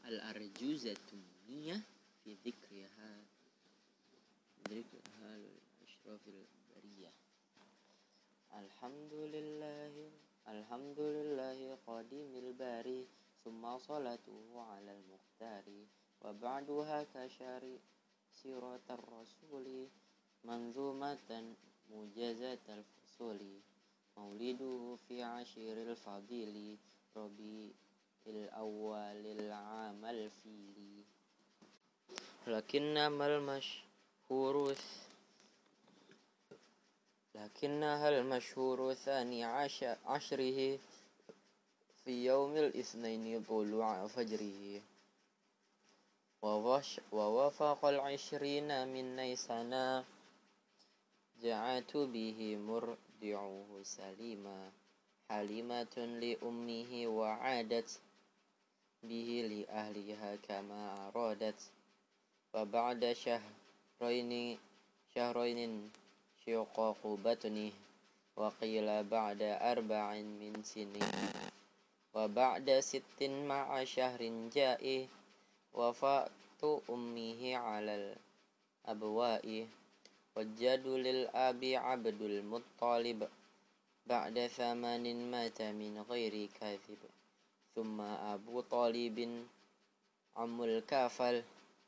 الأرجوزة النية في ذكرها لأشرف البرية. الحمد لله قديم الباري، ثم صلاته على المختار، وبعدها كشاري سيرة الرسول، منظومة مجازة الفصول، مولده في عشر الفضيل، ربيع الأول العام الفيل. لكنها المشهور ثاني عشره، في يوم الاثنين طلوع فجره، ووافق 20 من نيسان، جاءت به مرضعه سليما، حليمة لأمه وعادت به لأهلها كما أرادت. وبعد شهرين شقاق بطنه، وقيل بعد 4 من سنين، وبعد 6 مع شهر جاء، وفاة أمه على الأبواء. والجد للأب عبد المطلب، بعد 8 مات من غير كاذب. ثم أبو طالب عم الكافل،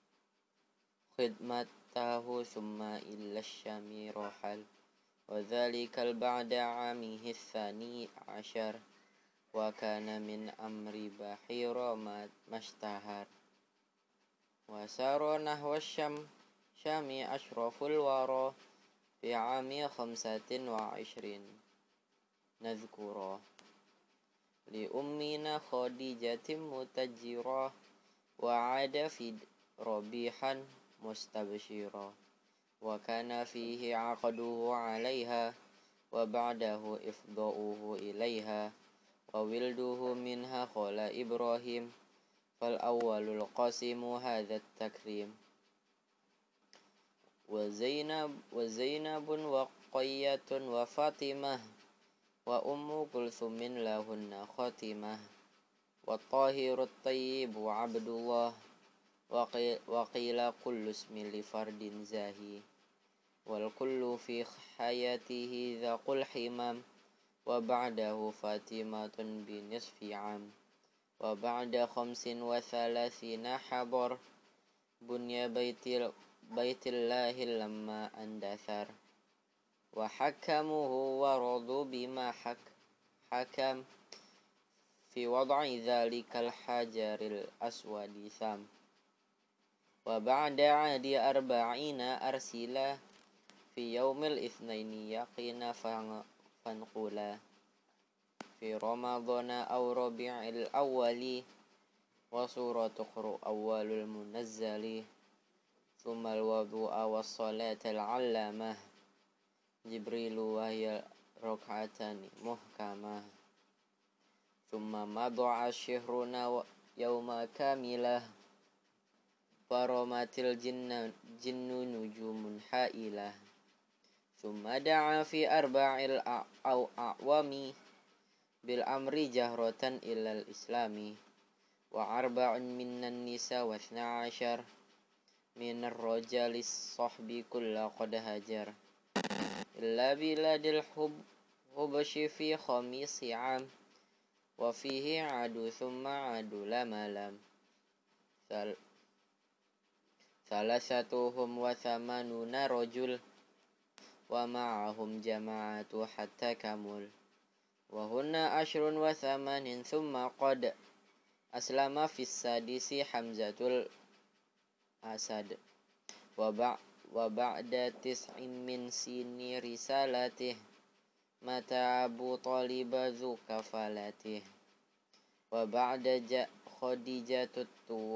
خدمته ثم إلى الشام رحل، وذلك بعد عامه 12، وكان من أمر بحير ما اشتهر. وسار نحو الشام أشرف الورى، في عام 25 نذكرا، لأمنا خديجة متجرا، وعاد في ربيحا مستبشرا، وكان فيه عقده عليها، وبعده إفضاؤه إليها، وولده منها خال إبراهيم، فالأول القاسم هذا التكريم. وزينب وقية وفاطمة، وأم كلثوم لهن خاتمة، والطاهر الطيب عبد الله، وقيل كل اسم لفرد زاهي، والكل في حياته ذاق الحمام، وبعده فاطمة بنصف عام. وبعد 35 حضر بني بيت الله لما اندثر، وحكموه ورضوا بما حكم، في وضع ذلك الحجر الأسود ثام. وبعد عاد 40 أرسلا، في يوم الاثنين يقين فانقلا، في رمضان أو ربيع الأول، وسورة تقرأ أول المنزل. ثم الوضوء والصلاة العلامة، جبريل وهي ركعتان محكمة. ثم مضى الشهرنا يوم كاملة، فرمت الجن نجوم حائلة. ثم دعا في 4 الأعوام، بالأمر جهرة إلى الإسلام، و4 من النساء و12 من الرجال الصحب كل قد هجر، إلا بلاد الحبش في 5 عام، وفيه عادوا ثم عادوا لما لم. 83 رجل، ومعهم جماعة حتى كمل، وهن 10 و8. ثم قد أسلم في 6 حمزة الأسد، وبعد 9 من سن رسالته، مات أبو طالب ذو كفالته. وبعد خديجة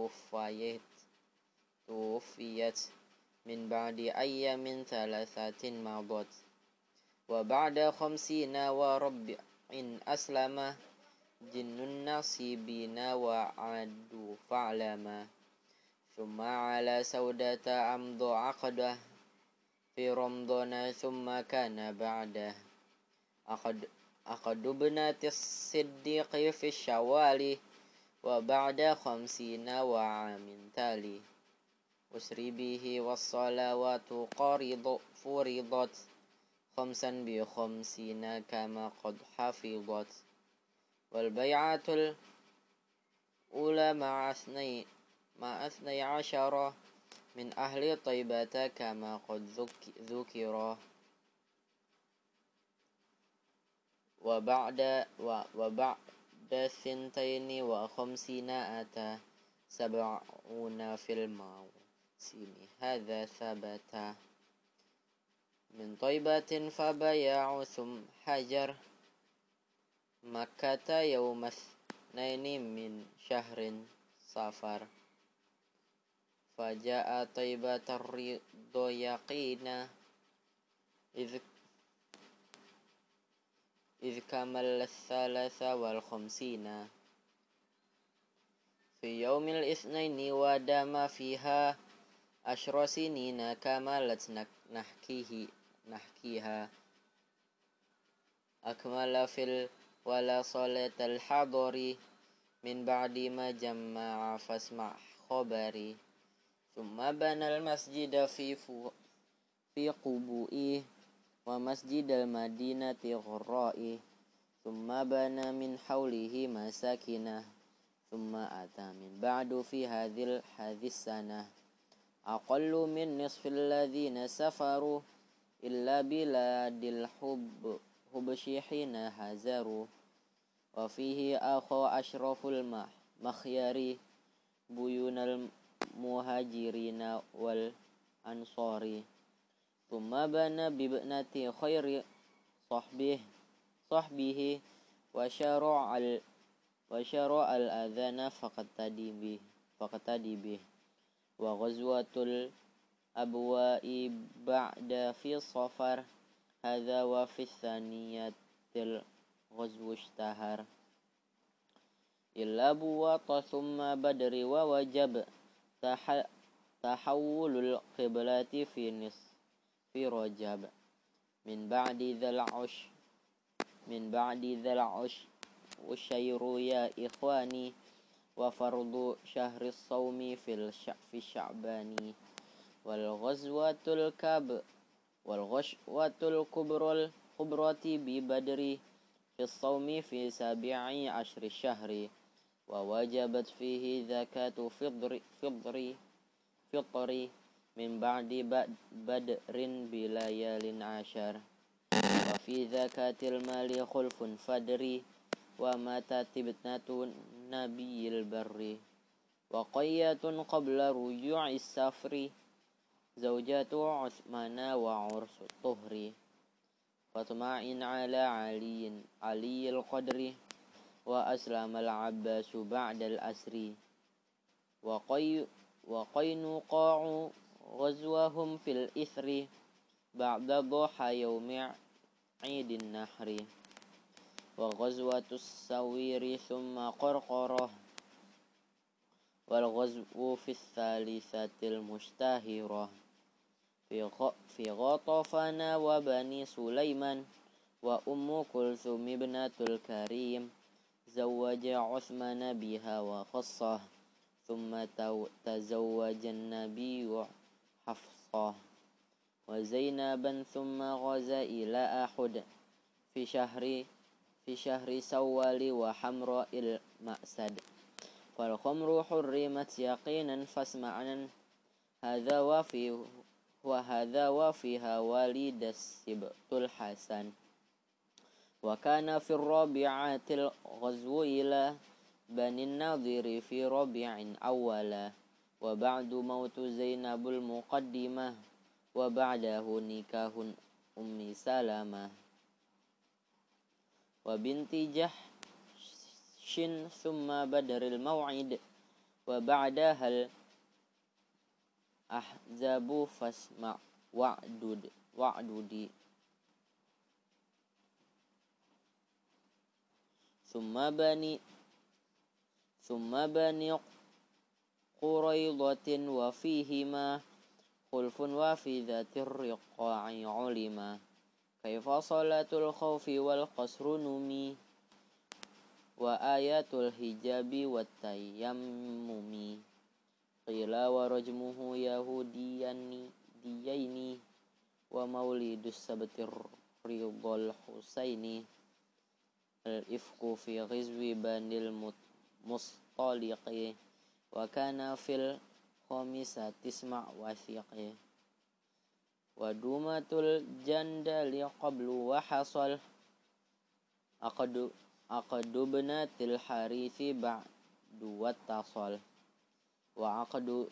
توفيت من بعد أيام 3 مضت. وبعد 50 وربع أسلم، جن النصيبين وعدوا فعلما. ثم على سودة أمضى عقده، في رمضان ثم كان بعده. أخد ابنة الصديق في الشوال، وبعد 50 وعام تالي أسري به والصلوات فرضت 55 كما قد حفظت والبيعة الأولى مع 12 من أهل طيبة كما قد ذكر وبعد 52 أتى 70 في الموسم هذا ثبت من طيبة فبيع ثم حجر مكة يوم 2 من شهر صفر فجاء طيبة الرضا يقينا إذ كمل 53 في يوم الاثنين ودام فيها 10 سنين كملت نحكيها أكمل في ولا صلاة الحضر من بعد ما جمع فاسمع خبري ثم بنى المسجد في قبوئه ومسجد المدينة غرائه ثم بنى من حوله مساكنه ثم أتى من بعد في هذه السنة أقل من نصف الذين سفروا إلا بلاد الحبش حين هزروا وفيه أخو أشرف المخيار بيون المهاجرين والأنصار ثم بنى بابنة خير صحبه وشرع الأذان فاقتدي به وغزوة الأبواء بعد في صفر هذا وفي الثانية الغزو اشتهر إلا بواط ثم بدر ووجب تحول القبلة في نصف رجب من بعد ذا العشر والشير يا إخواني وفرض شهر الصوم في الشعبان والغزوة الكبرى ببدر في الصوم في 17 شهر ووجبت فيه زكاة فطر من بعد بدر بليال 10 وفي زكاة المال خلف فدري وماتت ابنة نبي البر وقية قبل رجوع السفر زوجة عثمان وعرس الطهر فاطمع على علي القدر وأسلم العباس بعد الأسر وقينقاع غزوهم في الإثر بعد ضحى يوم عيد النحر وغزوة السوير ثم قرقرة والغزو في الثالثة المشتهرة في غطفان وبني سليمان وأم كلثوم ابنة الكريم زوج عثمان بها وخصه ثم تزوج النبي حفصة وزينبا ثم غزا إلى أحد في شهر سوال وحمراء المأسد فالخمر حرمت يقينا فاسمعنا هذا وفيها ولد السبط الحسن وكان في الرابعة الغزو إلى بني النضير في ربيع أولا وبعد موت زينب المقدمة وبعده نكاح أم سلمة وبنت جحش ثم بدر الموعد وبعدها الأحزاب فاسمع وعدد ثم بني قريضة وفيهما خلف وفي ذات الرقاع علما كيف صلاة الخوف والقصر نمي wa ayatul hijabi wat tayammumi. Qila wa rajmuhu yahudiyaini wa maulidus sabtir ridhal husaini. Al-ifku fi ghizwi banil mustaliqi wa kana fil khamisati isma' wathiqi. Wa dumatul jandali qablu wa hasal aqdu bnatil harithi ba'du wattasal. Wa aqdu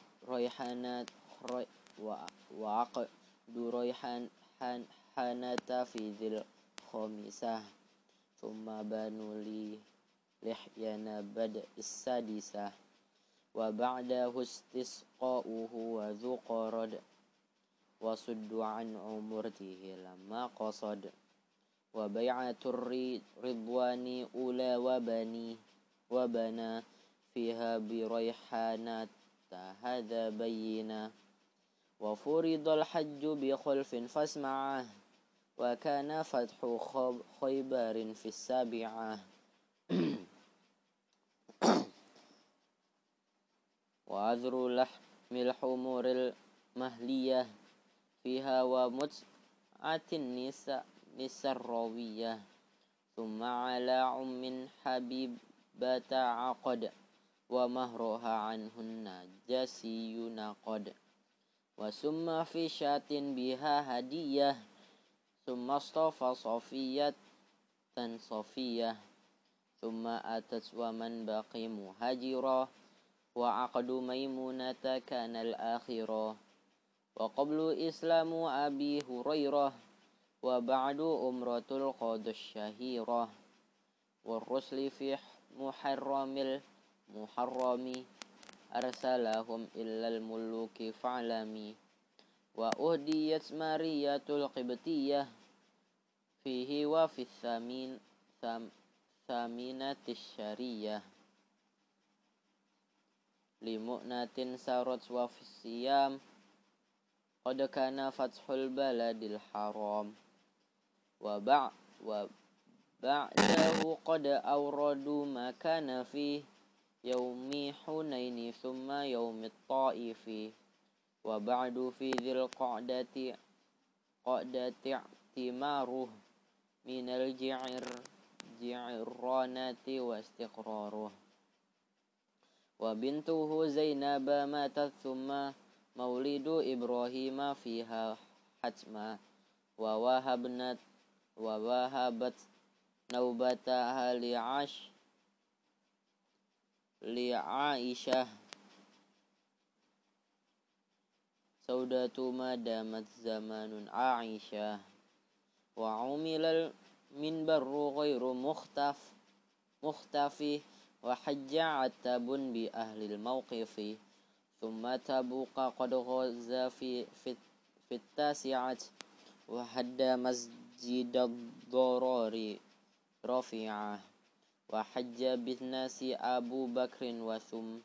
rayhanata fi dhil khamisah. Thumma banu lihyana bad'is sadisah. Wa ba'dahu istisqa'uhu wa dhuqarad. Wa suddu an umurtihi lamma qasad. Wa bay'atur ridwani ula wa bana fiha bi rayhanata hadha bayyina. Wa furidal hajju bi khulfin fasma'ah. Wa kana fathu khaybarin fis sabi'ah. Wa adhru lahmil humuril mahliyah fiha wa mut'atin nisar rawiyah. Thumma ala ummin habibata aqad. Wa mahruha anhun najasiyuna qad. Wa summa fi syatin biha hadiyah. Thumma astafa safiyatan safiyah. Thumma atat wa man baqi muhajira. Wa aqdu maimunata kana al-akhirah. Wa qablu islamu abi hurairah. Wa ba'du umratul qadus syahirah. Wa rusli fi muharrami arsalahum illal muluki fa'lami. Wa uhdiyat mariyatul qibtiyah fihi wa fi thaminatis syariyah. Limu'natin sarat wa fi siyam qad kana fathul baladil haram. Wa ba'dahu qad awradu ma kana fi yaumi hunaini thumma yaumit ta'ifi. Wa ba'du fi dhil qa'dati timaruh minal ji'ranati wa istiqraruh. Wa bintuhu Zainaba matat thumma maulidu Ibrahima fiha hatma. Wa wahabat naubataha li Aisyah saudatu madamat zamanun Aisyah. Wa umilal minbaru ghairu mukhtafi. Wa hajja atabun bi ahlil mawqifi. Thumma tabuqa qad ghaza fi tasi'at. Wa hadda masjidad dharari rafi'ah. Wa hajja bin nasi Abu Bakrin wa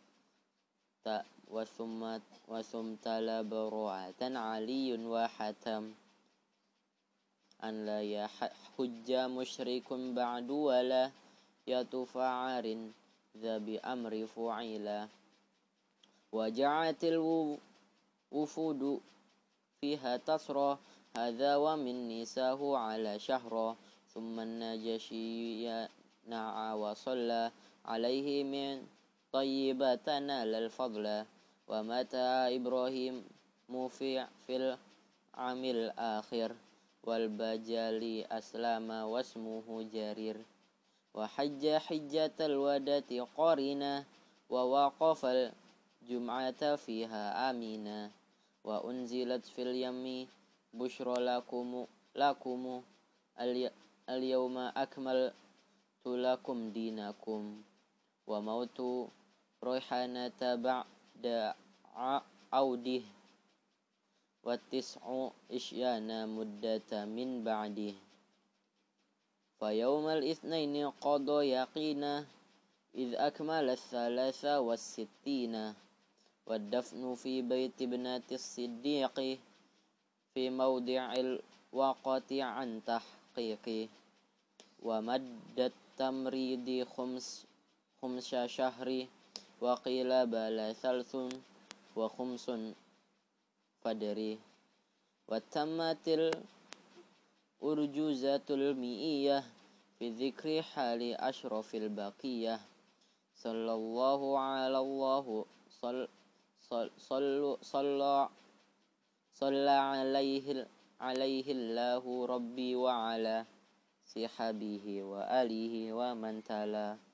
thumma labaru'atan Aliyun wa hatam. An la yahujja musyrikun ba'du wa la yatufa'arin Zabi amri fu'ila. Wa ja'atil wufudu fiha tasra. Hadha wa min nisahu ala syahra. Thumma najashiyya na'a wa salla alaihi min tayyibatana lal fadla. Wa mata Ibrahim fil amil akhir. Wal bajali aslama wasmuhu jarir. Wa hajja hijjatal wadati qarina. Wa waqafal jum'ata fiha amina. Wa unzilat fil yammi bushra lakumu al-yawma akmaltu lakum dinakum. Wa mautu rayhanata ba'da audih. Wa tis'u isyana muddata min ba'dih. Fa yawmal itsnaini qada yaqina. Idh akmala thalatha was sittina. Wa dafnu fi baiti ibnati siddiqi. Fi mawdi'il waqati an tahqiqi. Wa maddat التمريض خمس شهر وقيل بل ثلث وخمس فدري وتمت الأرجوزة المئية في ذكر حال أشرف البقية صلى الله على الله صلى عليه الله ربي وعلى صحبه وآله ومن تلا.